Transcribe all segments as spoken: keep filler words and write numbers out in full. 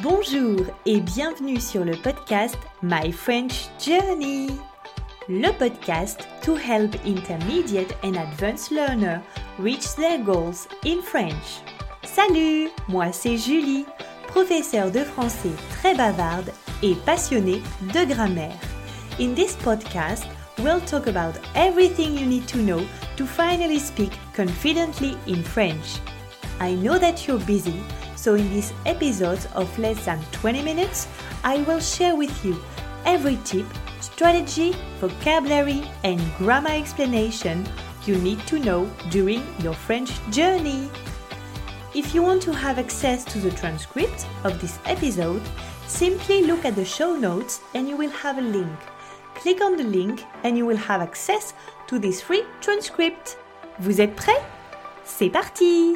Bonjour et bienvenue sur le podcast My French Journey, le podcast to help intermediate and advanced learners reach their goals in French. Salut, moi c'est Julie, professeure de français très bavarde et passionnée de grammaire. In this podcast, we'll talk about everything you need to know to finally speak confidently in French. I know that you're busy, so in this episode of less than twenty minutes, I will share with you every tip, strategy, vocabulary, and grammar explanation you need to know during your French journey. If you want to have access to the transcript of this episode, simply look at the show notes and you will have a link. Click on the link and you will have access to this free transcript. Vous êtes prêts? C'est parti!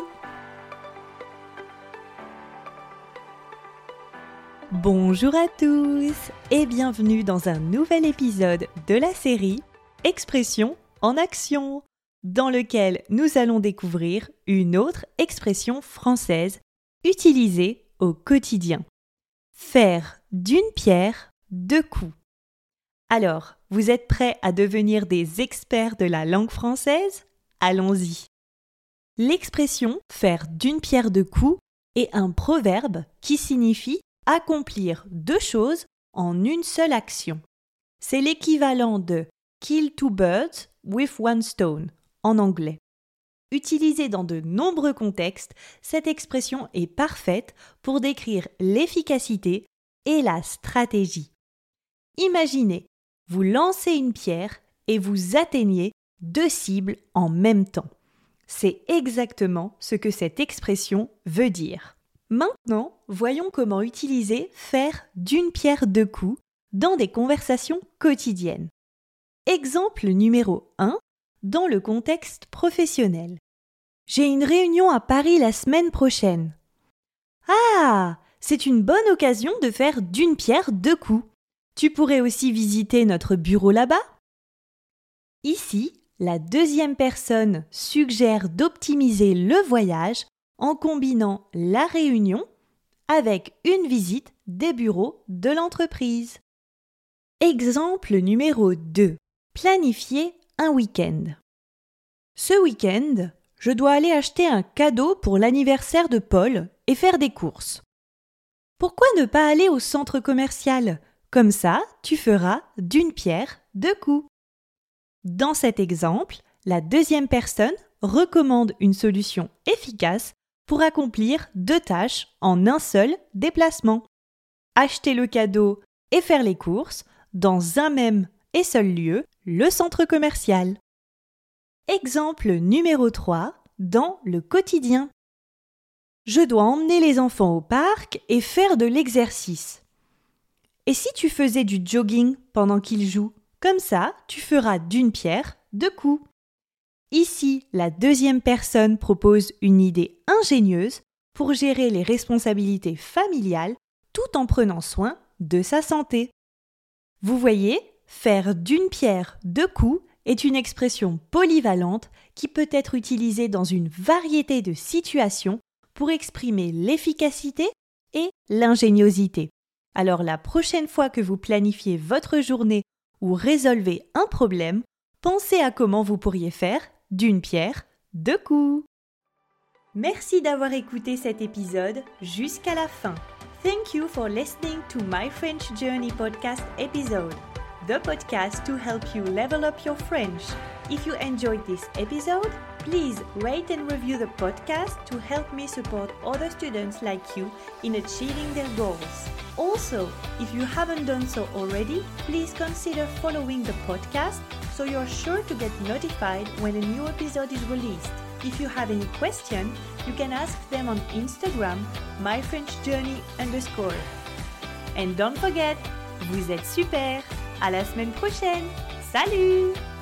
Bonjour à tous et bienvenue dans un nouvel épisode de la série Expressions en action, dans lequel nous allons découvrir une autre expression française utilisée au quotidien. Faire d'une pierre deux coups. Alors, vous êtes prêts à devenir des experts de la langue française? Allons-y! L'expression « faire d'une pierre deux coups » est un proverbe qui signifie accomplir deux choses en une seule action. C'est l'équivalent de « kill two birds with one stone » en anglais. Utilisée dans de nombreux contextes, cette expression est parfaite pour décrire l'efficacité et la stratégie. Imaginez, vous lancez une pierre et vous atteignez deux cibles en même temps. C'est exactement ce que cette expression veut dire. Maintenant, voyons comment utiliser « faire d'une pierre deux coups » dans des conversations quotidiennes. Exemple numéro un, dans le contexte professionnel. J'ai une réunion à Paris la semaine prochaine. Ah, c'est une bonne occasion de faire d'une pierre deux coups. Tu pourrais aussi visiter notre bureau là-bas. Ici, la deuxième personne suggère d'optimiser le voyage en combinant la réunion avec une visite des bureaux de l'entreprise. Exemple numéro deux. Planifier un week-end. Ce week-end, je dois aller acheter un cadeau pour l'anniversaire de Paul et faire des courses. Pourquoi ne pas aller au centre commercial? Comme ça, tu feras d'une pierre deux coups. Dans cet exemple, la deuxième personne recommande une solution efficace pour accomplir deux tâches en un seul déplacement. Acheter le cadeau et faire les courses dans un même et seul lieu, le centre commercial. Exemple numéro trois, dans le quotidien. Je dois emmener les enfants au parc et faire de l'exercice. Et si tu faisais du jogging pendant qu'ils jouent? Comme ça, tu feras d'une pierre deux coups. Ici, la deuxième personne propose une idée ingénieuse pour gérer les responsabilités familiales tout en prenant soin de sa santé. Vous voyez, faire d'une pierre deux coups est une expression polyvalente qui peut être utilisée dans une variété de situations pour exprimer l'efficacité et l'ingéniosité. Alors la prochaine fois que vous planifiez votre journée ou résolvez un problème, pensez à comment vous pourriez faire d'une pierre deux coups. Merci d'avoir écouté cet épisode jusqu'à la fin. Thank you for listening to My French Journey podcast episode, the podcast to help you level up your French. If you enjoyed this episode, please rate and review the podcast to help me support other students like you in achieving their goals. Also, if you haven't done so already, please consider following the podcast so you're sure to get notified when a new episode is released. If you have any question, you can ask them on Instagram, myfrenchjourney underscore. And don't forget, vous êtes super! À la semaine prochaine! Salut!